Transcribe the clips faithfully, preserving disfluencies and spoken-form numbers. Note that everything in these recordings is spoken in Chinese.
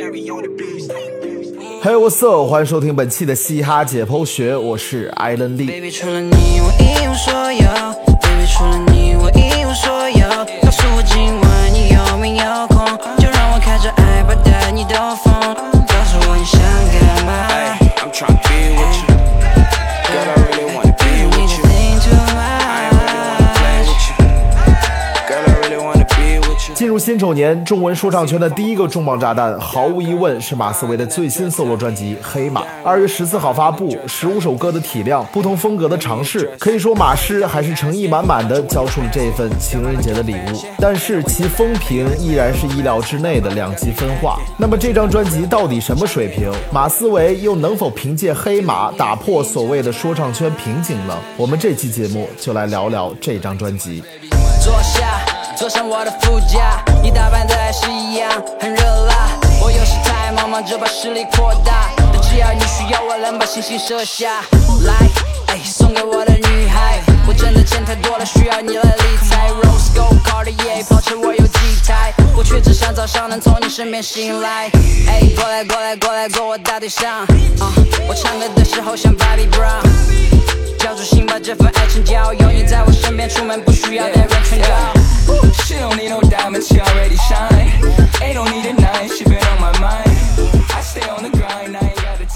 Hey what's up， 欢迎收听本期的嘻哈解剖学，我是艾伦利。 Baby 除了你我一无所有 Baby 除了你我一无所有，告诉我今晚你有没有空，就让我开着爱把带你兜风，告诉我你想干嘛 Hey, I'm trying to be with you. Girl, I really wanna be with you. I ain't really wanna play with you. Girl, I really wanna be with you. 进入新丑年，中文说唱圈的第一个重磅炸弹，毫无疑问是马思唯的最新 solo 专辑《黑马》。二月十四号发布，十五首歌的体量，不同风格的尝试，可以说马师还是诚意满满的交出了这份情人节的礼物。但是其风评依然是意料之内的两极分化。那么这张专辑到底什么水平？马思唯又能否凭借《黑马》打破所谓的说唱圈瓶颈呢？我们这期节目就来聊聊这张专辑。 坐下坐上我的副驾，你打扮的还是一样很热辣，我有时太忙忙着把势力扩大，但只要你需要我能把星星射下来，哎，送给我的女孩，我真的钱太多了需要你来理财， Rose Gold Cartier 跑车我有几台，我却只想早上能从你身边醒来，哎，过来过来过来过我大腿上、uh, 我唱歌的时候像 Bobby Brown，交出心把这份爱情交，有你在我身边，出门不需要别人劝告。 She don't need no diamonds, she already shine. Ain't no need a night, she been on my mind. I stay on the grind, I ain't got the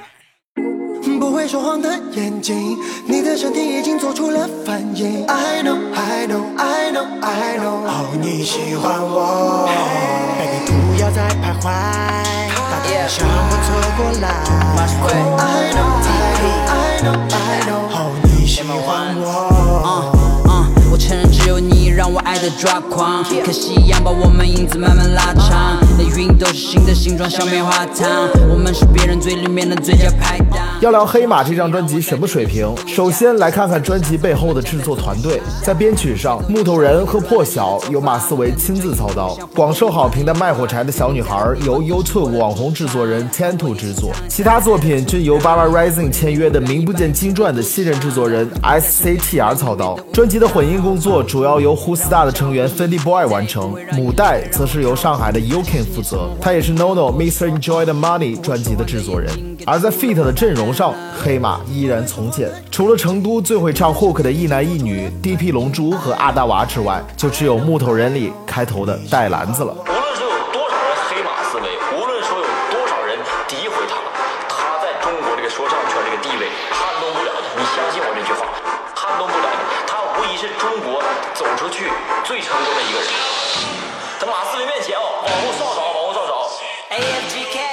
time. 不会说谎的眼睛，你的身体已经做出了反应。I know, I know, I know, I know。哦，你喜欢我 ，baby 不要再徘徊，把天向我凑过来。I know, I know, I know, I know。哦，你喜欢我。 我承认只有你让我爱的抓狂，可惜一样把我们影子慢慢拉长，那云都是新的形状像棉花糖，我们是别人嘴里面的最佳拍档。 要聊黑马这张专辑什么水平，首先来看看专辑背后的制作团队。在编曲上，木头人和破晓由马思唯亲自操刀，广受好评的卖火柴的小女孩由 YouTube 网红制作人 Tantu 制作，其他作品均由 Baba Rising 签约的名不见经传的新人制作人 S C T R 操刀。专辑的混音工作主要由 Who Star 的成员 Fendi Boy 完成，母带则是由上海的 Yukin 负责，他也是 NoNo、Mister Enjoy the Money 专辑的制作人。而在 feat 的阵容上，黑马依然从简，除了成都最会唱 hook 的一男一女 D P 龙珠和阿达娃之外，就只有木头人里开头的带篮子了。 无论说有多少人黑马思维，无论说有多少人诋毁他，他在中国这个说唱圈这个地位撼动不了的，你相信我这句话，撼动不了的，他无疑是中国走出去最成功的一个人。在马思唯面前哦，往后稍找，往后稍找 A F G K，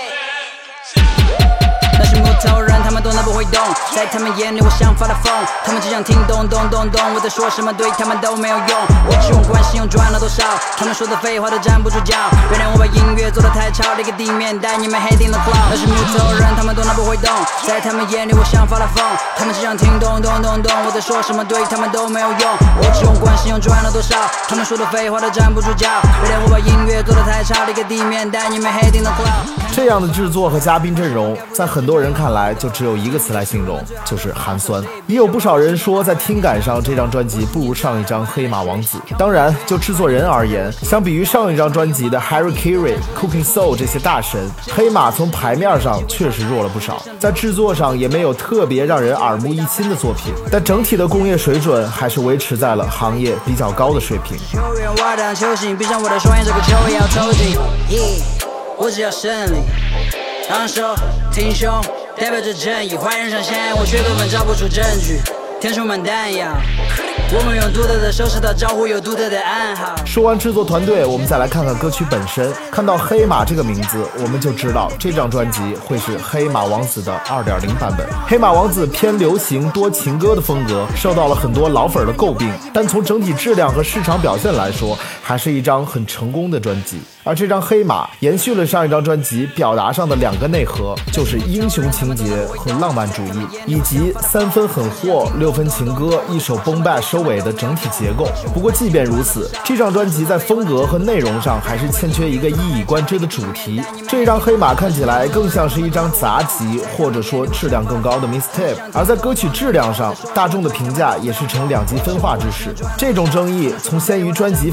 那些木头人他们动都不会动，在他们眼里我像发了疯，他们只想听懂懂懂懂我在说什么，对他们都没有用，我只用关心用赚了多少，他们说的废话都站不住脚，原谅我把音乐做得太吵，那个地面带你们黑定了 cloud， 那些木头人他们动都不会动，在他们眼里我像发了疯，他们只想听懂懂懂懂我在说什么，对他们都没有用，我只用关心用赚了多少，他们说的废话都站不住脚，原谅我把音乐做得太吵，那个地面带你们黑定了 cloud。 这样的制作和嘉宾阵容，在很多人看来就只有一个词来形容，就是寒酸。也有不少人说，在听感上这张专辑不如上一张黑马王子。当然，就制作人而言，相比于上一张专辑的 Harry Carey、Cooking Soul 这些大神，黑马从牌面上确实弱了不少，在制作上也没有特别让人耳目一新的作品，但整体的工业水准还是维持在了行业比较高的水平。 球员我当球星，闭上我的双眼，这个球也要投进。Yeah， 我只要胜利，昂首挺胸，代表着正义。坏人上线，我却根本找不出证据。天充满弹药，我们用独特的手势打招呼，有独特的暗号。 说完制作团队，我们再来看看歌曲本身。看到黑马这个名字，我们就知道这张专辑会是黑马王子的 二点零 版本。黑马王子偏流行多情歌的风格，受到了很多老粉的诟病，但从整体质量和市场表现来说，还是一张很成功的专辑。而这张黑马延续了上一张专辑表达上的两个内核，就是英雄情节和浪漫主义，以及三分狠货六分情歌一首崩败收尾的整体结构。不过即便如此，这张专辑在风格和内容上还是欠缺一个一以贯之的主题。这张黑马看起来更像是一张杂集，或者说质量更高的 mixtape。而在歌曲质量上，大众的评价也是呈两极分化之势。这种争议从先于专辑发布的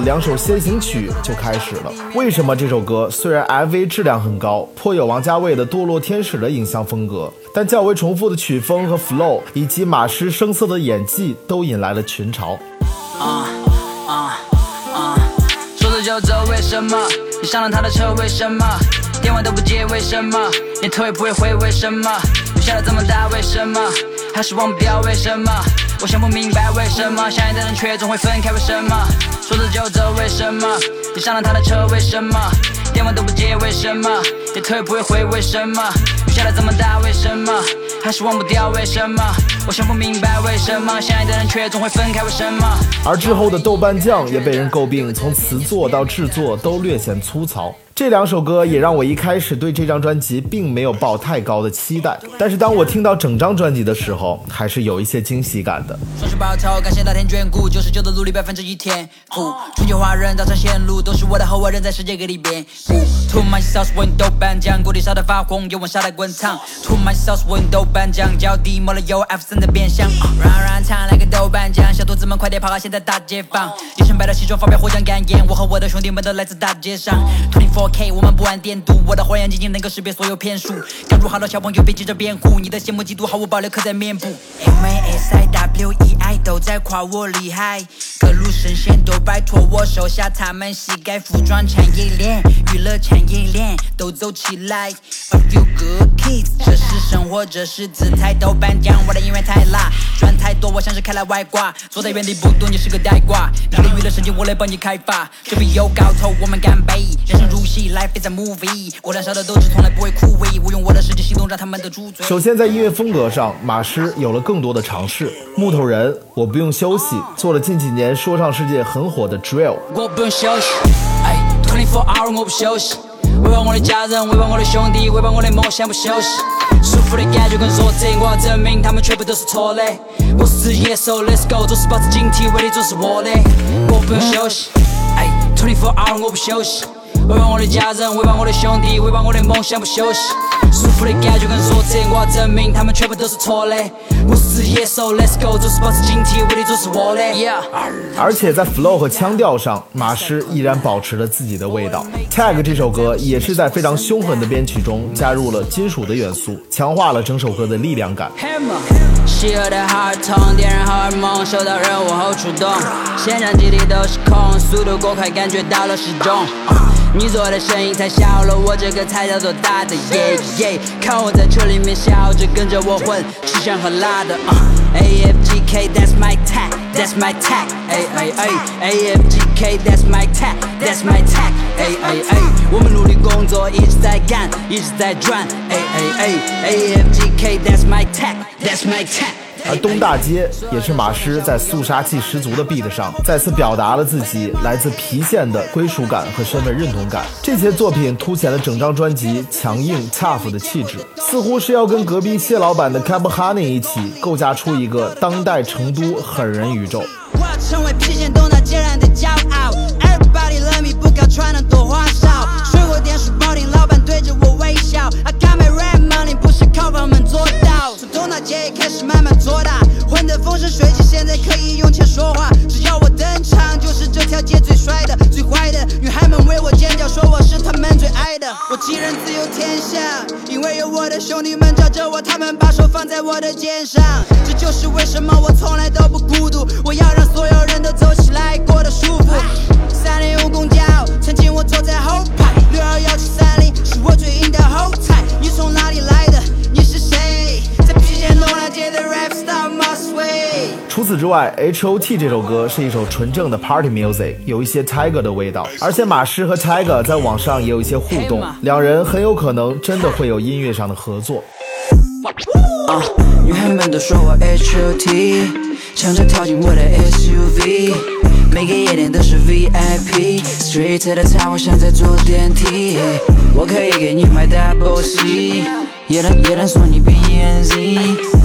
两首先行曲就开始了。为什么这首歌虽然 M V 质量很高，颇有王家卫的堕落天使的影像风格，但较为重复的曲风和 flow 以及马师生涩的演技都引来了群嘲。 啊啊啊！说走就走，为什么？你上了他的车，为什么？电话都不接，为什么？连头也不会回，为什么？雨下的这么大，为什么？还是忘不掉，为什么？我想不明白为什么相爱的人却总会分开，为什么？说走就走，为什么？你上了他的车，为什么？电话都不接，为什么？连头也不会回，为什么？雨下的这么大，为什么？还是忘不掉，为什么？我想不明白为什么相爱的人却总会分开，为什么？ 而之后的豆瓣酱也被人诟病，从词作到制作都略显粗糙。这两首歌也让我一开始对这张专辑并没有抱太高的期待，但是当我听到整张专辑的时候，还是有一些惊喜感的。 双手抱头，感谢老天眷顾，九十九的努力，百分之一天赋。春秋华人，早餐线路，都是我的后人在世界各地遍布。To myself， 我豆瓣酱，锅里烧得发红，油温烧得滚烫。To myself， 我豆瓣酱，脚底抹了油 ，F 三的变相。软软烫来个豆瓣酱，小兔子们快点跑啊！现在大解放，一身白的西装发表获奖感言，我和我的兄弟们都来自大街上。二十四 K， 我们不玩电镀，我的火眼金睛能够识别所有骗术。刚入行的小朋友别急着辩护，你的羡慕嫉妒毫无保留刻在面部。M A S I W E I 都在夸我厉害，各路神仙都拜托我手下，他们膝盖服装产业链、娱乐产业链都走起来。A few good kids， 这是生活，这是姿态。豆瓣酱，我的音乐太辣，赚太多，我像是开了外挂，坐在原地不动，你是个呆瓜。你的娱乐神经，我来帮你开发，这笔有搞头，我们干杯。人生如戏 ，Life is a movie， 果然烧的斗志从来不会枯萎，我用我的实际行动让他们的猪嘴。 首先在音乐风格上，马师有了更多的尝试。木头人，我不用休息，做了近几年说唱世界很火的 drill。 我不用休息，哎 ，twenty four hour 我不休息，为帮我的家人，为帮我的兄弟，为帮我的梦想不休息。舒服的感觉跟弱者，我要证明他们全部都是错的。我是野兽 ，Let's go， 做事保持警惕，威力总是我的。我不用休息，哎 ，twenty four hour 我不休息。为帮我的家人，为帮我的兄弟，为帮我的梦想不休息。舒服的感觉跟弱者，我要证明他们全部都是错的。我是野兽 ，Let's go， 做事保持警惕，威力总是我的。Yeah。 而且在 flow 和腔调上，马师依然保持了自己的味道。Tag 这首歌也是在非常凶狠的编曲中加入了金属的元素，强化了整首歌的力量感。 邪恶的荷尔蒙，点燃荷尔蒙，收到任务后出动，现场基地都是空，速度过快，感觉到了失重。你做的声音太小了，我这个才叫做大的，耶耶！看我在车里面笑着，跟着我混，吃香喝辣的。Uh, A F G K that's my tag, that's my tag, 哎哎哎 A F G K that's my tag, that's my tag, 哎哎哎我们努力工作，一直在干，一直在赚，哎哎哎 A F G K that's my tag, that's my tag。 而东大街也是马师在肃杀气十足的 beat 上再次表达了自己来自郫县的归属感和身份认同感。这些作品凸显了整张专辑强硬 tough 的气质，似乎是要跟隔壁谢老板的 Cab Honey 一起构架出一个当代成都狠人宇宙。 我要成为郫县东大街人的骄傲 Everybody love me， 不搞穿的多花哨，水果店书包店老板对着我微笑 I got my rap money， 不是靠我们做到，从东大街也开始慢慢做大，混得风生水起，现在可以用钱说话，只要我登场就是这条街最帅的最坏的，女孩们为我尖叫，说我是她们最爱的，我吉人自有天下，因为有我的兄弟们罩着我，他们把手放在我的肩上，这就是为什么我从来都不孤独，我要让所有人都走起来过得舒服。三零五公交，曾经我坐在后排，六二幺七三零是我最硬的后台，你从哪里来的？你是谁？在郫县东大街的 rap star must sway。 除此之外 H O T 这首歌是一首纯正的 party music， 有一些 Tiger 的味道，而且马师和 Tiger 在网上也有一些互动，两人很有可能真的会有音乐上的合作。 啊，女孩们都说我 H O T， 抢着跳进我的 S U V， 每个夜店都是 V I P，Street 的茶我像在坐电梯，我可以给你买 Double C， 夜店夜店说你变 E N Z。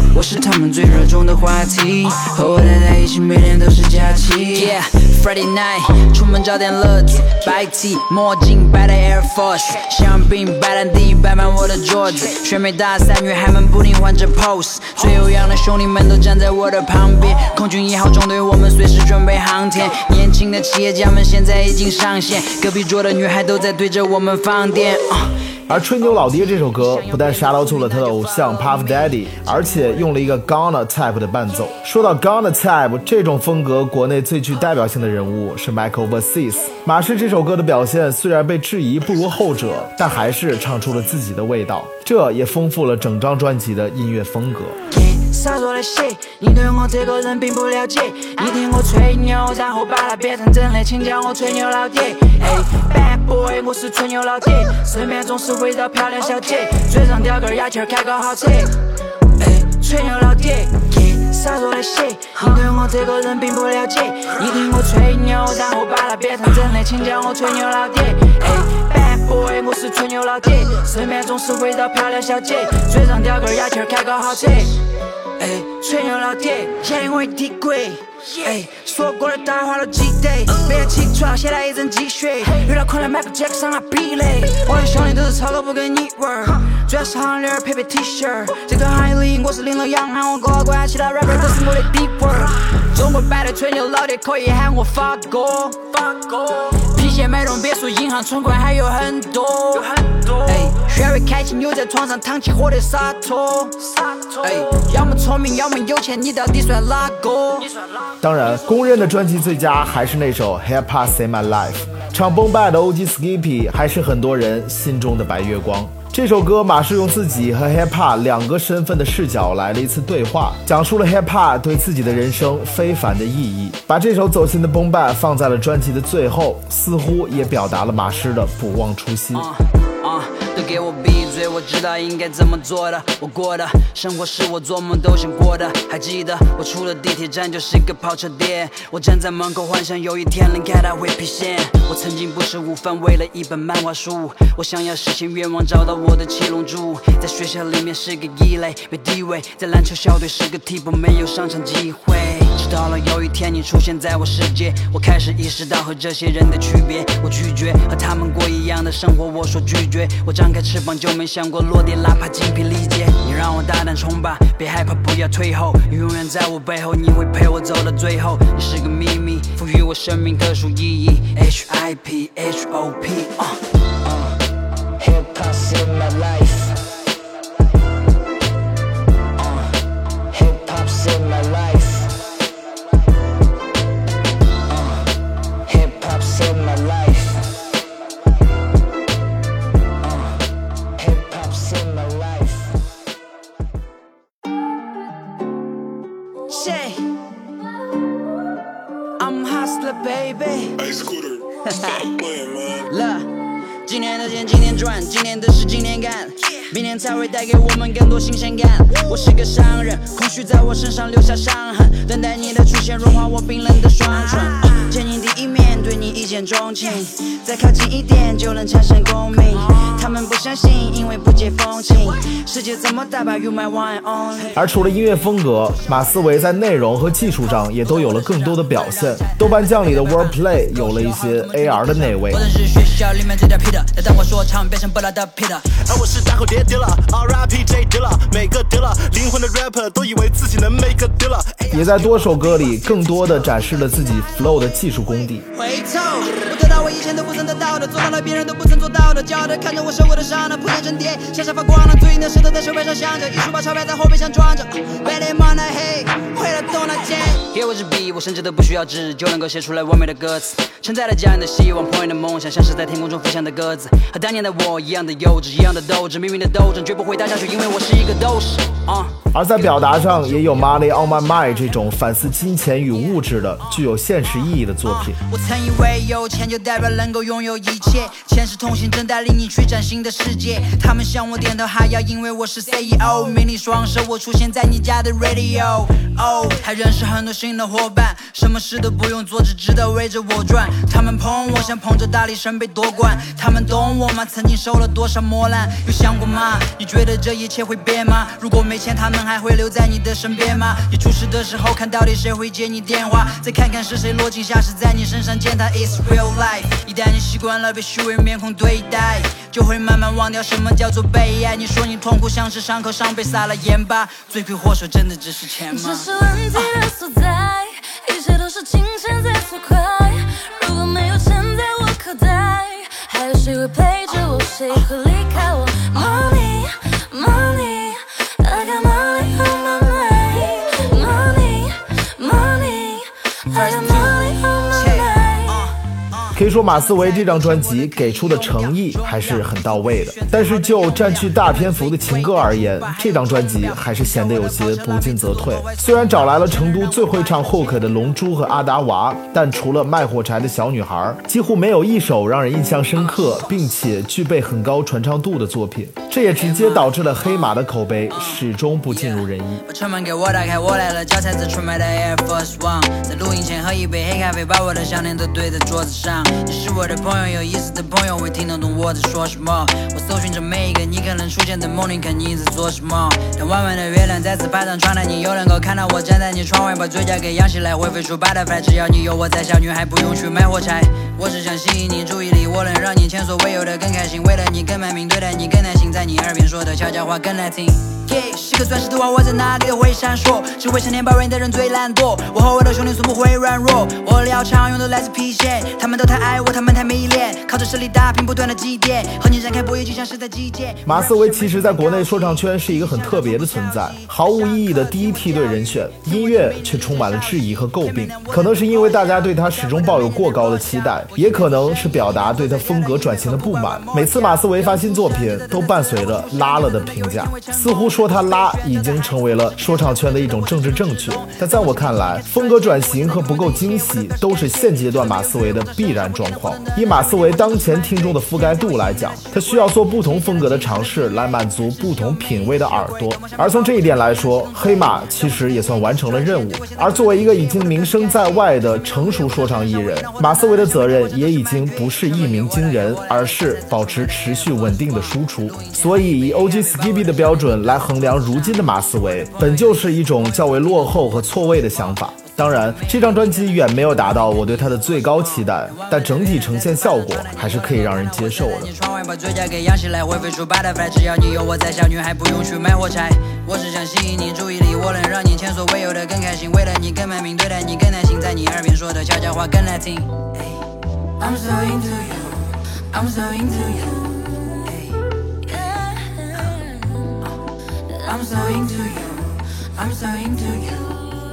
我是他们最热衷的话题，和我待在一起每天都是假期。Yeah, Friday night， 出门找点乐子，白 T 墨镜白的 Air Force， 香槟白兰地摆满我的桌子，选美大赛女孩们不停换着 pose， 最有样的兄弟们都站在我的旁边，空军一号中队我们随时准备航天，年轻的企业家们现在已经上线，隔壁桌的女孩都在对着我们放电。uh 而《吹牛老爹》这首歌不但 shout out to 了他的偶像 Puff Daddy， 而且用了一个 Ghana type 的伴奏。说到 Ghana type 这种风格，国内最具代表性的人物是 Michael Overseas。马氏这首歌的表现虽然被质疑不如后者，但还是唱出了自己的味道，这也丰富了整张专辑的音乐风格。 少说的些，你对我这个人并不了解。你听我吹牛，然后把它变成真的，请叫我吹牛老爹。哎 ，Bad boy， 我是吹牛老爹，身边总是围绕漂亮小姐，嘴上叼根牙签开个豪车。哎，吹牛老爹，少说的些，你对我这个人并不了解。你听我吹牛，然后把它变成真的，请叫我吹牛老爹。哎 ，Bad boy， 我是吹牛老爹，身边总是围绕漂亮小姐，嘴上叼根牙签开个豪车。哎，吹牛老爹，嫌我地贵。哎，说过的大话都记得，每天起床先来一针鸡血，遇到困难买个杰克上来避雷。我的兄弟都是超哥不跟你玩，主要是行链配配 T 恤。这个行业里我是领头羊，喊我高管，其他 rapper 都是我的敌人。中国版的吹牛老爹可以喊我发哥，发哥。皮鞋买栋别墅，银行存款还有很多，有很多。哎，学会开心，又在床上躺起火的洒脱，洒脱。哎，要么聪明，要么有钱，你到底算哪个？ 当然，公认的专辑最佳还是那首 Hip Hop Save My Life， 唱崩败的 O G Skippy 还是很多人心中的白月光。这首歌马是用自己和 Hip Hop 两个身份的视角来了一次对话，讲述了 Hip Hop 对自己的人生非凡的意义，把这首走心的崩败放在了专辑的最后，似乎也表达了马师的不忘初心。 uh, uh, 都给我闭嘴，我知道应该怎么做的，我过的生活是我做梦都想过的，还记得我出了地铁站就是个跑车店，我站在门口幻想有一天能看到会郫县，我曾经不吃午饭为了一本漫画书，我想要实现愿望找到我的七龙珠，在学校里面是个异类没地位，在篮球校队是个替补没有上场机会，直到了有一天你出现在我世界，我开始意识到和这些人的区别，我拒绝和他们过一样的生活，我说拒绝，我张开翅膀就没想过落地，哪怕精疲力竭，你让我大胆冲吧，别害怕不要退后，你永远在我背后，你会陪我走到最后，你是个秘密，赋予我生命特殊意义 H I P H O P uh, uh, Hip Hop Save My Life uh, Hip Hop Save My Life uh, Hip Hop Save My Life uh, Hip Hop Save My Life Say I'm hustler baby Hey Scooter Stop playing man 了今天的钱今天赚，今天的事今天干，明天才会带给我们更多新鲜感。我是个商人，空虚在我身上留下伤痕，等待你的出现融化我冰冷的双唇。见你第一面，对你一见钟情，再靠近一点就能产生共鸣。他们不相信，因为不解风情。世界这么大吧 ，You my one and only。 而除了音乐风格，马思唯在内容和技术上也都有了更多的表现。豆瓣酱里的 Wordplay 有了一些 A R 的内味。 我是学校里面最屌皮的，但当我说唱变成不老的 Peter。 而我是大口叠叠了 ，R I P J 叠了，每个叠了，灵魂的 rapper 都以为自己能 make a deal 了。 也在多首歌里更多的展示了自己 flow 的技术功底。 回头，我得到我以前都不曾得到的，做到了别人都不曾做到的，骄傲的看着我受过的伤，那铺天沉叠，闪闪发光了，最硬的石头在手背上镶着，一书把钞票在后背上装着。Bad man I hate， 回来动那剑。给我支笔，我甚至都不需要纸，就能够写出来完美的歌词。承载了家人的希望，朋友的梦想，像是在天空中飞翔的鸽子。和当年的我一样的幼稚，一样的斗志，命运的斗争绝不会打下去，因为我是一个斗士。啊、uh 而在表达上，也有 Money on My Mind 这种反思金钱与物质的、具有现实意义的作品。 我曾以为有钱就代表能够拥有一切，前世同行正带领你去崭新的世界。他们向我点头哈腰，因为我是 C E O， 迷你双手我出现在你家的 radio。 哦，还认识很多新的伙伴，什么事都不用做，只知道围着我转。他们捧我像捧着大力神杯夺冠，他们懂我吗？曾经受了多少磨难，有想过吗？你觉得这一切会变吗？如果没钱，他们还会留在你的身边吗？你出事的时候，看到底谁会接你电话？再看看是谁落井下石，在你身上践踏。It's real life， 一旦你习惯了被虚伪面孔对待，就会慢慢忘掉什么叫做被爱。你说你痛苦像是伤口上被撒了盐巴，罪魁祸首真的只是钱吗？ 这是问题的所在，一切都是金钱在作怪。如果没有钱在我口袋，还有谁会陪着我？谁会离开我 ？Money, money, I got money on my mind. Money, money, I got money on my mind. 可以说马思唯这张专辑给出的诚意还是很到位的，但是就占据大篇幅的情歌而言，这张专辑还是显得有些不进则退。虽然找来了成都最会唱 hook 的龙珠和阿达娃，但除了卖火柴的小女孩，几乎没有一首让人印象深刻并且具备很高传唱度的作品，这也直接导致了黑马的口碑始终不尽如人意。 把车门给我打开，我来了，脚踩着纯白的 Air Force One， 在录音前喝一杯黑咖啡，把我的项链都堆在桌子上。你是我的朋友，有意思的朋友会听得懂我在说什么。我搜寻着每一个你可能出现在梦里，看你在做什么。当弯弯的月亮再次爬上窗台，你又能够看到我站在你窗外，把嘴角给扬起来，会飞出 butterfly。只要你有我在，小女孩不用去买火柴。我只想吸引你注意力，我能让你前所未有的更开心，为了你更卖命，对待你更耐心，在你耳边说的悄悄话更难听。Yeah， 是颗钻石的话，我在哪里都会闪烁。只会想念抱怨的人最懒惰，我和我的兄弟从不会软弱。我的镣常用的来自郫县，他们都太爱我，他们太迷恋，靠着实力打拼，不断的积淀，和你展开博弈就像是在击剑。 马思唯其实在国内说唱圈是一个很特别的存在，毫无意义的第一梯队人选，音乐却充满了质疑和诟病。可能是因为大家对他始终抱有过高的期待，也可能是表达对他风格转型的不满。每次马思唯发新作品都伴随着拉了的评价，似乎说他拉已经成为了说唱圈的一种政治正确。但在我看来，风格转型和不够惊喜都是现阶段马思唯的必然状况。以马思唯当前听众的覆盖度来讲，他需要做不同风格的尝试来满足不同品味的耳朵。而从这一点来说，黑马其实也算完成了任务。而作为一个已经名声在外的成熟说唱艺人，马思唯的责任也已经不是一鸣惊人，而是保持持续稳定的输出。所以以 O G Skippy 的标准来衡量如今的马思唯，本就是一种较为落后和错位的想法。当然，这张专辑远没有达到我对它的最高期待，但整体呈现效果还是可以让人接受的。 窗外把嘴角给扬起来，会飞出 butterfly。只要你有我在，小女孩不用去买火柴。我只想吸引你注意力，我能让你前所未有的更开心，为了你更卖命，对待你更耐心，在你耳边说的悄悄话更难听。I'm so into you, I'm so into you. I'm so into you, I'm so into you.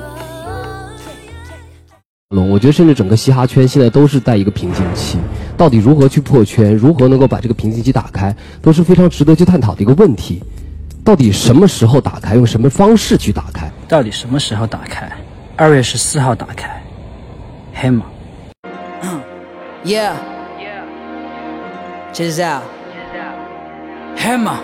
我觉得甚至整个嘻哈圈现在都是在一个瓶颈期，到底如何去破圈，如何能够把这个瓶颈期打开，都是非常值得去探讨的一个问题。到底什么时候打开，用什么方式去打开？ 到底什么时候打开？二月十四号打开，黑马。 Yeah, check this out. 黑马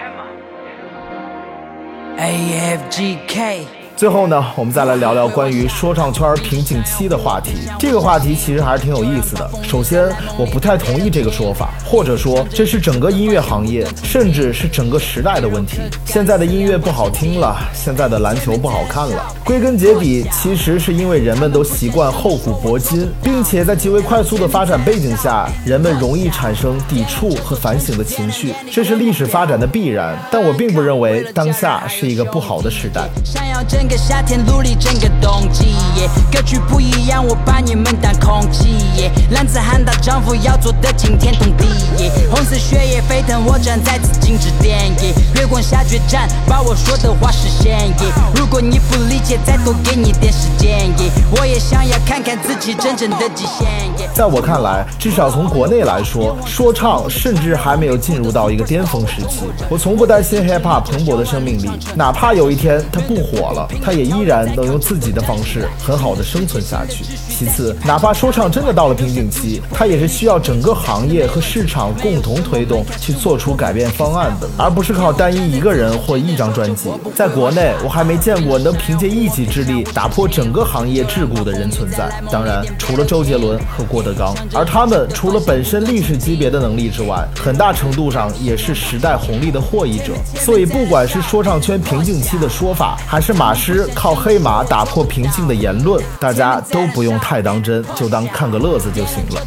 A F G K。 最后呢，我们再来聊聊关于说唱圈瓶颈期的话题。这个话题其实还是挺有意思的。首先，我不太同意这个说法，或者说这是整个音乐行业，甚至是整个时代的问题。现在的音乐不好听了，现在的篮球不好看了。归根结底，其实是因为人们都习惯厚古薄今，并且在极为快速的发展背景下，人们容易产生抵触和反省的情绪，这是历史发展的必然。但我并不认为当下是一个不好的时代。 想要整个夏天努力整个冬季，歌曲不一样，我把你们当空气。男子汉大丈夫要做的惊天动地，红色血液沸腾，我站在紫禁之巅，月光下决战，把我说的话实现。如果你不理解，再多给你点时间，我也想要看看自己真正的极限。 在我看来，至少从国内来说，说唱甚至还没有进入到一个巅峰时期。我从不担心 hip hop 蓬勃的生命力，哪怕有一天它不火了， 他也依然能用自己的方式很好的生存下去。其次，哪怕说唱真的到了瓶颈期，他也是需要整个行业和市场共同推动去做出改变方案的，而不是靠单一一个人或一张专辑。在国内，我还没见过能凭借一己之力打破整个行业桎梏的人存在。当然，除了周杰伦和郭德纲，而他们除了本身历史级别的能力之外，很大程度上也是时代红利的获益者。所以，不管是说唱圈瓶颈期的说法，还是马师靠黑马打破瓶颈的言论，大家都不用太当真，就当看个乐子就行了。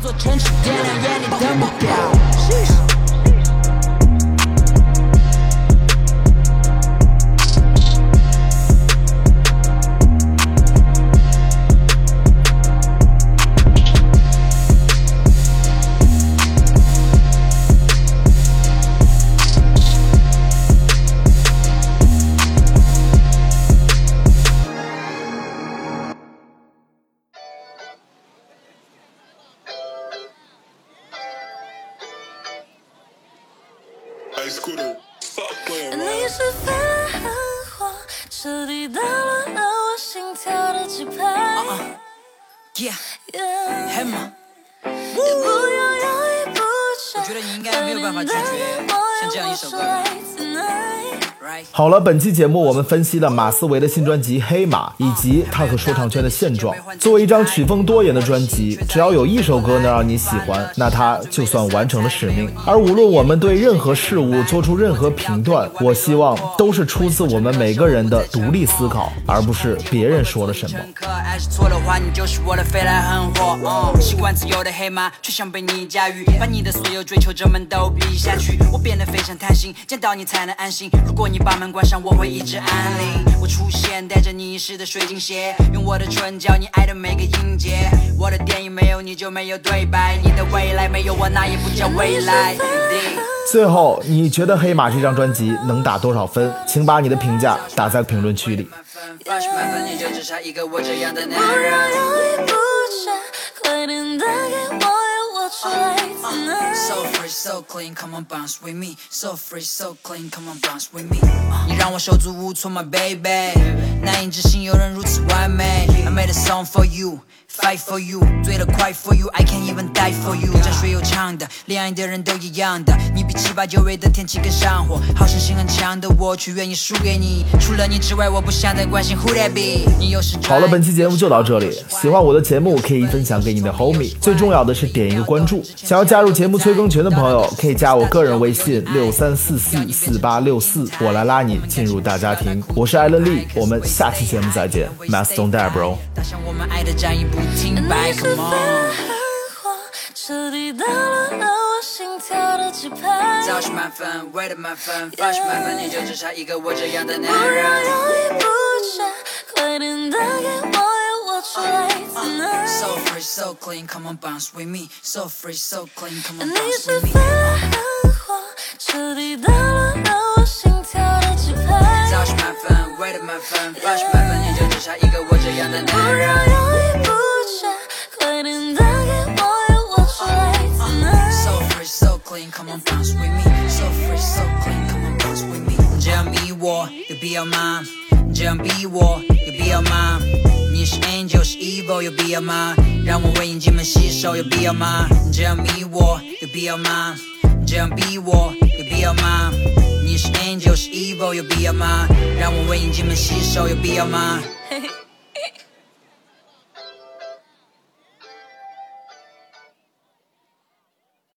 你是繁华，彻底打乱了我心跳的节拍。 Yeah, hey 嘛，我觉得你应该没有办法拒绝像这样一首歌。 好了，本期节目我们分析了马思唯的新专辑《黑马》，以及他和说唱圈的现状。作为一张曲风多元的专辑，只要有一首歌能让你喜欢，那它就算完成了使命。而无论我们对任何事物做出任何评断，我希望都是出自我们每个人的独立思考，而不是别人说了什么。 错的话，你就是我的飞来横祸。嗯，习惯自由的黑马，却想被你驾驭，把你的所有追求者们都比下去。我变得非常贪心，见到你才能安心。如果你把门关上，我会一直安宁。我出现，带着你遗失的水晶鞋，用我的唇教你爱的每个音节。我的电影没有你就没有对白，你的未来没有我那也不叫未来。 最后，你觉得黑马这张专辑能打多少分？请把你的评价打在评论区里。 八十满分，你就只差一个我这样的男人。 不让犹豫不决，快点打给我，让我出来 tonight。 So free, so clean, come on bounce with me. So free, so clean, come on bounce with me. 你让我手足无措 my baby， 难以置信有人如此完美。I made a song for you, fight for you， 醉得快 for you, I can't even die for you。 沾水有呛的，恋爱的人都一样的，你比七八九月的天气更上火。好胜心很强的我，却愿意输给你。除了你之外，我不想再关心 who that be。 你有时好了，本期节目就到这里。喜欢我的节目可以分享给你的 homie， 最重要的是点一个关注。想要加入节目催更群的朋友，可以加我个人微信六三四四四八六四，我来拉你进入大家庭。我是艾伦利，我们下期节目再见。Mass don't die bro。 打响我们爱的战役不停摆 ，Come on。 彻底打乱了我心跳的节拍。 早是满分，为了满分，八十满分，你就只差一个我这样的男不人。 让犹豫不决，快点打给我，让我出来 tonight。 So free, so clean, come on bounce with me. So free, so clean, come on 你 bounce 是 with me. 繁华，彻底打乱了我心跳的节拍。 早是满分，为了满分，八十满分，你就只差一个我这样的不男人。 让犹豫不决，快点打给我，让我出来 tonight。 So free, so clean, come on bounce with me. So free, so clean, come on bounce with me. 这样逼我有必要吗？这样逼我有必要吗？你是 angel 是 evil 有必要吗？让我为你进门洗手有必要吗？这样迷我有必要吗？这样逼我有必要吗？你是 angel 是 evil 有必要吗？让我为你进门洗手有必要吗？ 嘿嘿